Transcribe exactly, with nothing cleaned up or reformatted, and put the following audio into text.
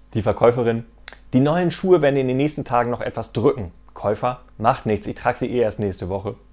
Die Verkäuferin: Die neuen Schuhe werden in den nächsten Tagen noch etwas drücken. Käufer: Macht nichts, ich trage sie eh erst nächste Woche.